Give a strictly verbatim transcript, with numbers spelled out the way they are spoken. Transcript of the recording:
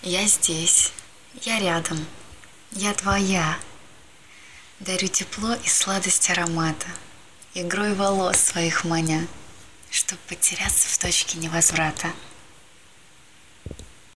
Я здесь, я рядом, я твоя. Дарю тепло и сладость аромата, игрой волос своих маня, чтоб потеряться в точке невозврата.